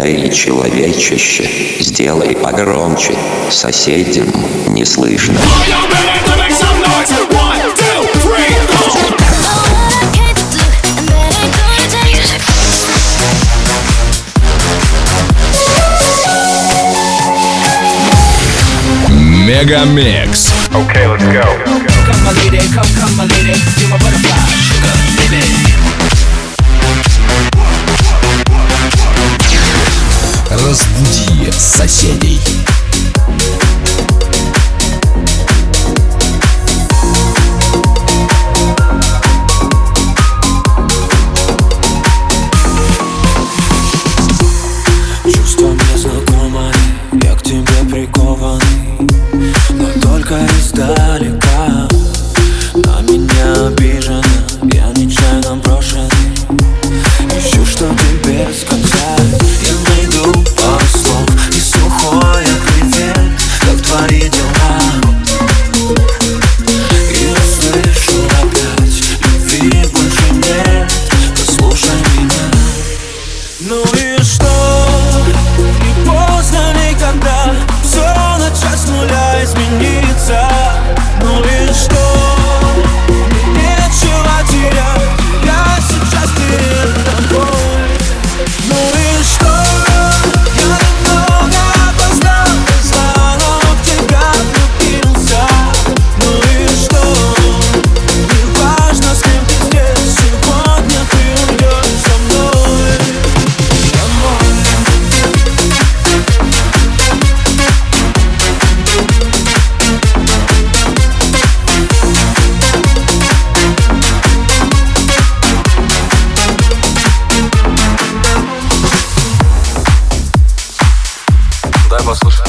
Эй, человечище, сделай погромче, соседям не слышно. Мегамикс. Okay, let's go. Come my lady, come my lady, you're my butterfly, sugar, baby. Разбуди соседей. Чувства мне знакомы, я к тебе прикованный, но только издалека. На меня обижена, я нечаянно брошенный. Ищу, что тебе сказать. Я найду пару слов и сухое привет, как твои дела. И услышу опять, любви больше нет, послушай меня. Ну и что? Не поздно никогда все начать с нуля, измениться. Ну и что? Мне нечего терять, я сейчас перед тобой. Ну и что? Я немного опоздал, заново в тебя влюбился. Ну и что? Не важно, с кем ты здесь, сегодня ты уйдешь со мной. Дай послушать.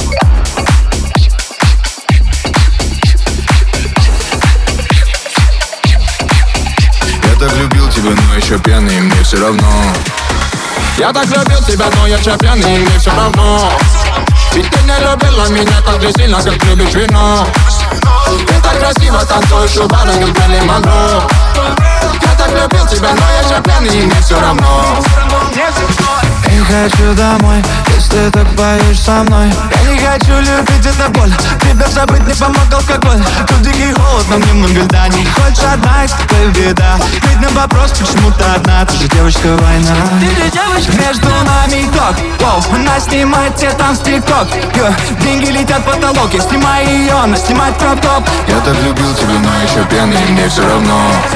Я так любил тебя, но еще пьяный, мне все равно. Я так любил тебя, но я еще пьяный, мне все равно. Ведь ты не любила меня так же сильно, как любишь вино. Ты так красиво танцуешь у бара, как Мэрилин Монро. Я так любил тебя, но я еще пьяный, мне все равно. Не хочу домой, если так поешь со мной. Я не хочу любить, это боль. Тебя забыть не помог алкоголь. Тут дикий холод, но мне много льда. Не хочешь одна, есть такая беда. Ведь на вопрос, почему ты одна. Ты же девочка война. Ты же девочка. Между нами ток. Воу, она снимает все там в тик-ток. Деньги летят в потолок. Я снимаю ее, она снимает кроп-топ. Я так любил тебя, но еще пьяный, мне все равно.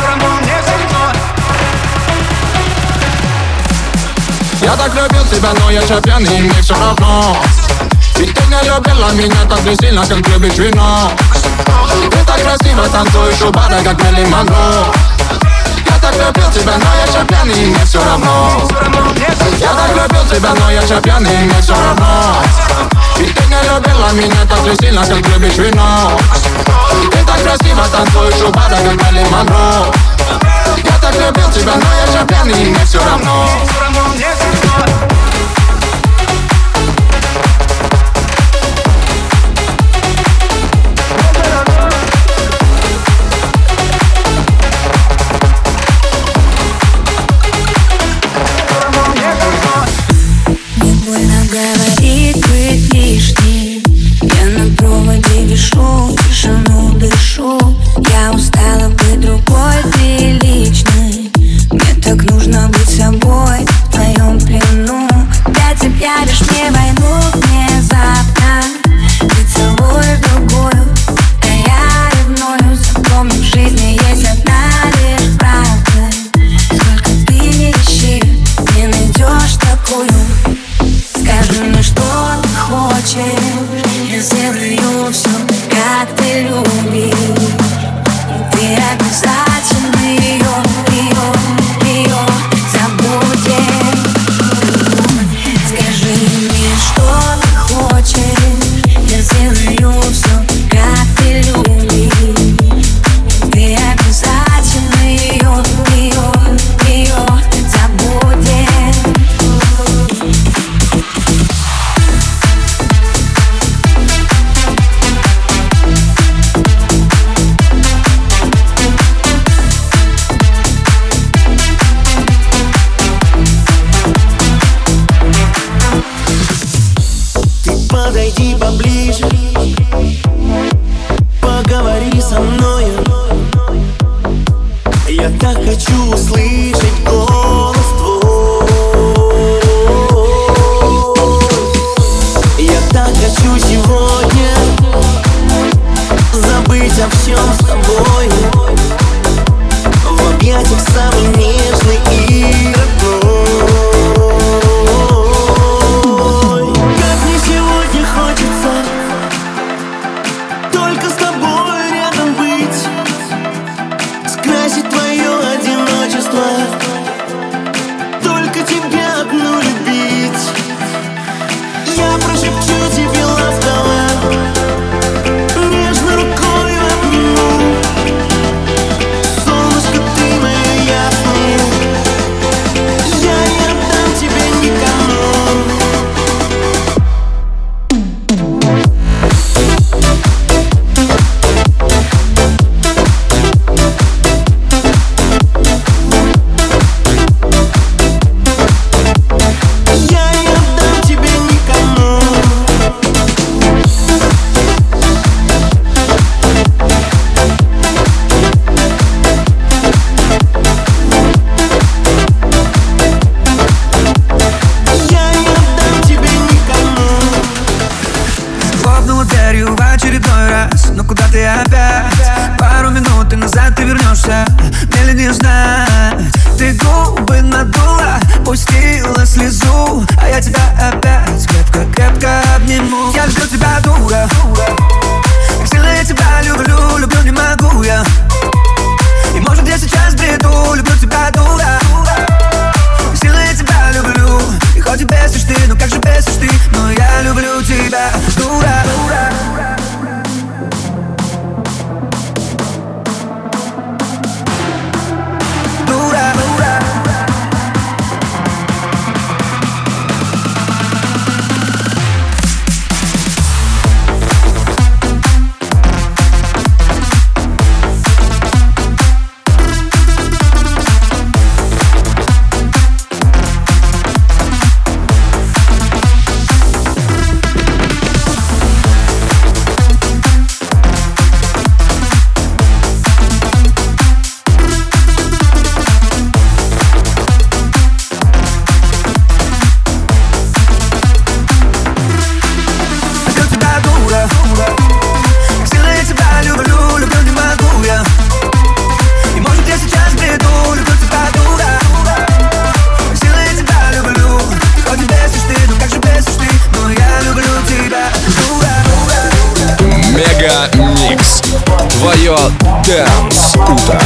Я так любил тебя, но я еще пьяный, мне все равно. Ведь ты не любила меня так же сильно, как любишь вино. Ты так красиво танцуешь у бара, как Мэрилин Монро. Я так любил тебя, но я еще пьяный, мне все равно. Я так любил тебя, но я еще пьяный, мне все равно. Ведь ты не любила меня так же сильно, как любишь вино. Ты так красиво танцуешь у бара, как Мэрилин Монро. Я так любил тебя, но я еще пьяный, мне все равно. Мне больно говорить, быть лишней. Я на проводе вишу, тишину дышу. Я устала быть другой, ты личной. Мне так нужно быть собой в твоем плену. Опять объявишь мне войну внезапно. Ты целуешь другую, а я ревную. Запомни, в жизни есть одна лишь правда. Сколько ты не ищи, не найдешь такую. Скажи мне, что ты хочешь, я сделаю все, как ты любишь. И ты обязательно ее забудешь. Скажи мне, что ты хочешь, я сделаю все, как ты любишь. Ты обязательно ее забудешь. подойди поближе, поговори со мною. Я так хочу услышать голос твой. Я так хочу сегодня забыть о всем с тобой, в объятиях самый нежный и родной. Как мне сегодня хочется только с тобой рядом быть, скрасить твое одиночество, только тебя одну любить. Я прошепчу тебе ласково, нежно рукой обниму. Солнышко, ты мое ясное, я не отдам тебя никому. Хлопнула дверью в очередной раз. Но куда ты опять? Пару минут и назад ты вернешься. Мне ли не знать? Ты губы надула, пустила слезу, а я тебя опять крепко-крепко обниму. Я люблю тебя, дура, как сильно я тебя люблю, люблю не могу я. И может я сейчас бреду, люблю тебя, дура, как сильно я тебя люблю. И хоть и бесишь ты, ну как же бесишь ты, но я люблю тебя, дура. Дура, дура. Мегамикс. Твое Dance утро.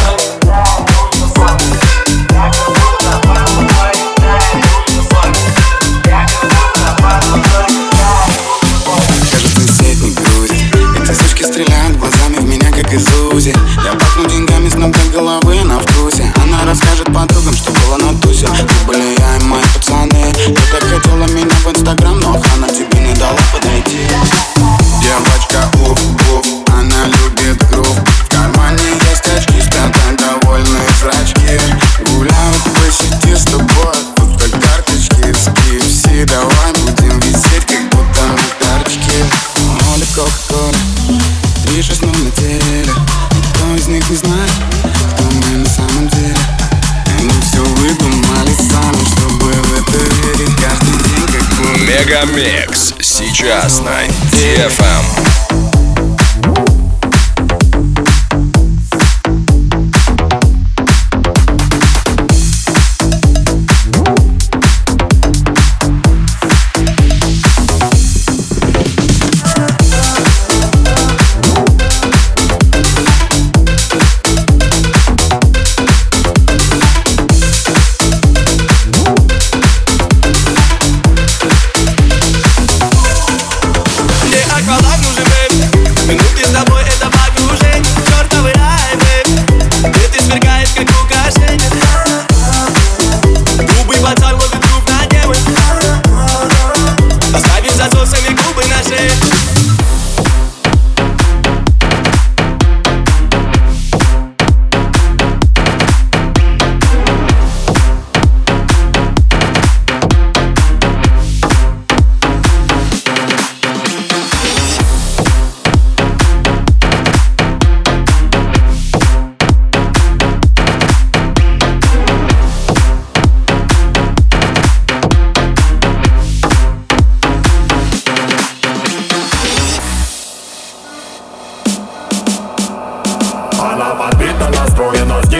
Кажется, сеть не грузит. Эти сучки стреляют глазами в меня, как из УЗИ. Я пахну деньгами с ног до головы, она в вкусе. Она расскажет подругам, что было на тусе. Ты были я и мои пацаны. Ты так хотела меня в Инстаграм, но охрана тебе не дала подойти. Девочка, она любит грув. В кармане есть очки, спят довольные зрачки. Гуляют по сети с тобой, будто карточки с KFC. Давай будем висеть, как будто мы карточки. Моли, кока-кола, 3-6-0 на теле. Никто из них не знает, кто мы на самом деле. Они все выдумали сами, чтобы в это верить каждый день, как будто. Мегамикс. Сейчас на DFM. Акваланг нужен.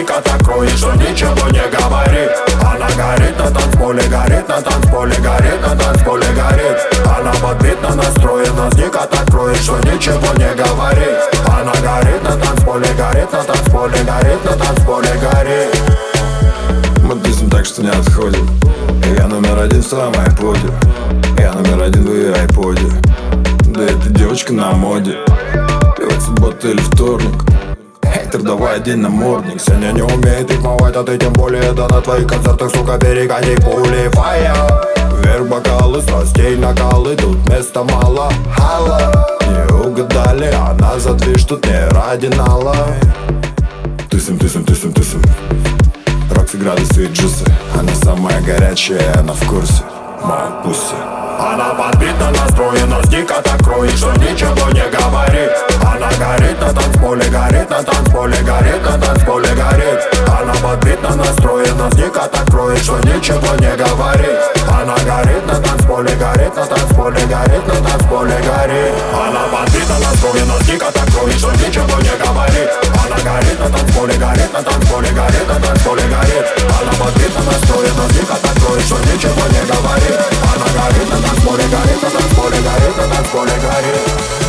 дико так кроет, что ничего не говорит. Она горит на танцполе, горит на танцполе, горит на танцполе, горит. Она подбитно настроена, дико так кроет, что ничего не говорит. Она горит на танцполе, горит на танцполе, горит на танцполе, горит. Мы тусим так, что не отходим. Я номер один в своем айподе. Я номер один в ее айподе. Да эта девочка на моде. И вот суббота или вторник. Хейтер, давай одень намордник. Сегодня не умеет рифмовать, а ты тем более. Да на твоих концертах, сука, перегони пули. Фая. Вверх бокалы, страстей накалы. Тут места мало, хала. Не угадали, она за движ, тут не ради нала. Тусим, тусим, тусим, тусим. Рокси, градусы и джусы. Она самая горячая, она в курсе. Моя пусси. Она подбитно настроена, дико так кроет, что ничего не говорит. Она горит на танцполе, горит на танцполе, горит на танцполе, горит. Она подбитно настроена, дико так кроет, что ничего не говорит. Она горит на танцполе, горит на танцполе, горит на танцполе, горит. Она подбитно настроена, дико так кроет, что ничего не говорит. Она горит на танцполе, горит на танцполе, горит на танцполе, горит. Она подбитно настроена, дико так кроет, что ничего не говорит. Она горит на танцполе, горит на танцполе, горит на танцполе, горит.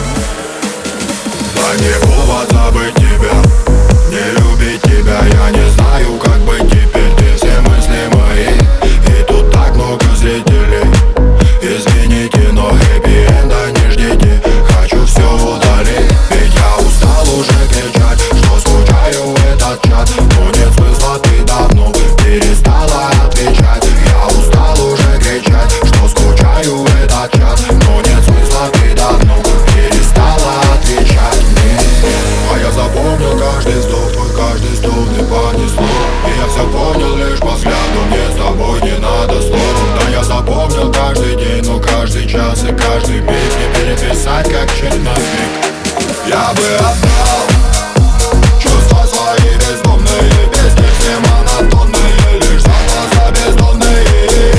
А не повод забыть тебя, не любить тебя. Я не знаю, как быть теперь, ты все мысли мои. И тут так много зрителей. Извините, но хэппи-энда не ждите. Хочу все удалить, ведь я устал уже кричать, что скучаю в этот чат. Но нет смысла, ты давно перестала отвечать. Я устал уже кричать, что скучаю в этот чат. Но нет смысла, ты давно перестала отвечать мне. А я запомнил каждый вздох, твой каждый стон и понесло. И я все понял лишь по взгляду, мне с тобой не надо слов. Да я запомнил каждый день, но каждый час и каждый миг не переписать, как черновик. Я бы отдал чувства свои бездомные, песни все монотонные, лишь за глаза бездонные.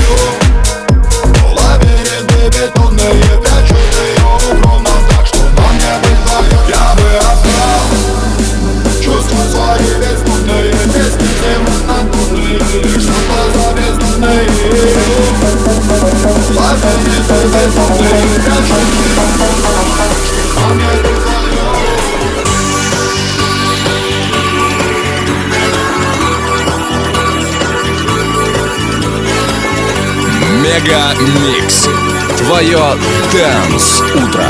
Лабиринты бетонные, прячут ее укромно так, что нам не быть вдвоем. Я бы отдал чувства свои бездомные, песни все монотонные, лишь за глаза бездонные. Лабиринты бетонные, прячут ее укромно так, что нам не быть вдвоем. Мега Микс. Твое Dance утро.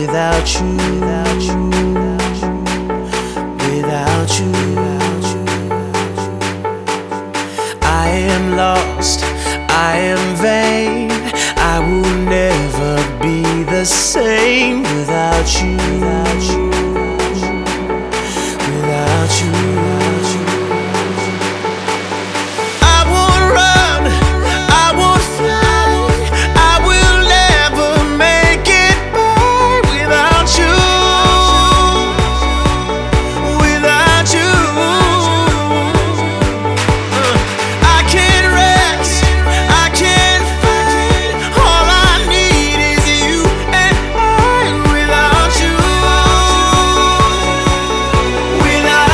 without you, without you. I am lost, I am vain. I will never be the same without you, without you. I won't run, I won't fly. I will never make it by without you, without you. I can't rest, I can't fight. All I need is you and I without you, without.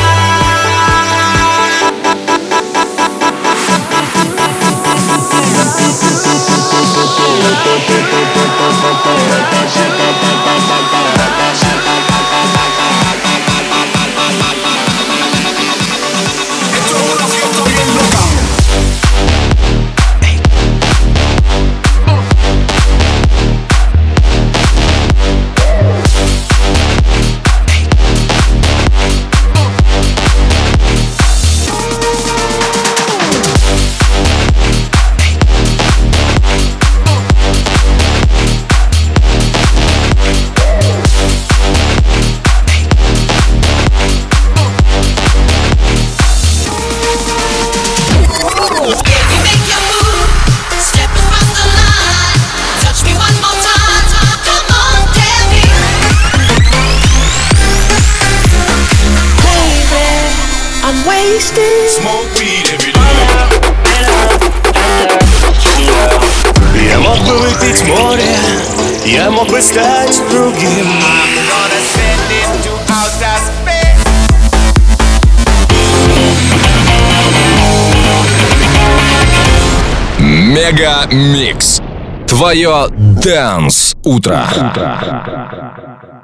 Smoke weed every day. Я мог бы выпить море, я мог бы стать другим. Мега Микс. Твое Dance утро.